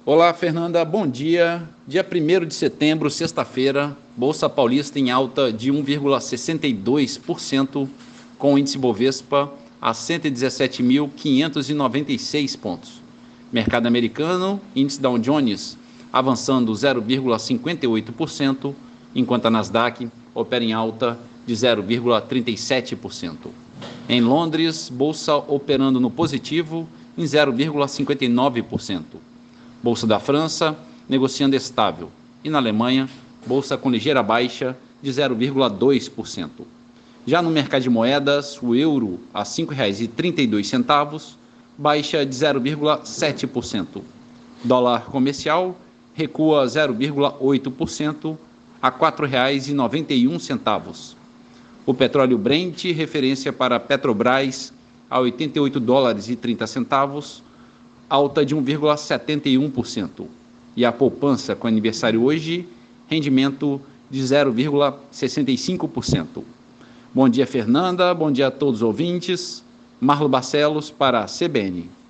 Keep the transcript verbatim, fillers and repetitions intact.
Olá, Fernanda, bom dia. Dia primeiro de setembro, sexta-feira, Bolsa Paulista em alta de um vírgula sessenta e dois por cento, com o índice Bovespa a cento e dezessete mil quinhentos e noventa e seis pontos. Mercado americano, índice Dow Jones avançando zero vírgula cinquenta e oito por cento, enquanto a Nasdaq opera em alta de zero vírgula trinta e sete por cento. Em Londres, Bolsa operando no positivo em zero vírgula cinquenta e nove por cento. Bolsa da França, negociando estável. E na Alemanha, bolsa com ligeira baixa de zero vírgula dois por cento. Já no mercado de moedas, o euro a cinco reais e trinta e dois centavos, baixa de zero vírgula sete por cento. Dólar comercial recua zero vírgula oito por cento a quatro reais e noventa e um centavos. O petróleo Brent, referência para Petrobras, a oitenta e oito dólares e trinta centavos, alta de um vírgula setenta e um por cento. E a poupança com aniversário hoje, rendimento de zero vírgula sessenta e cinco por cento. Bom dia, Fernanda. Bom dia a todos os ouvintes. Marlo Barcelos para a C B N.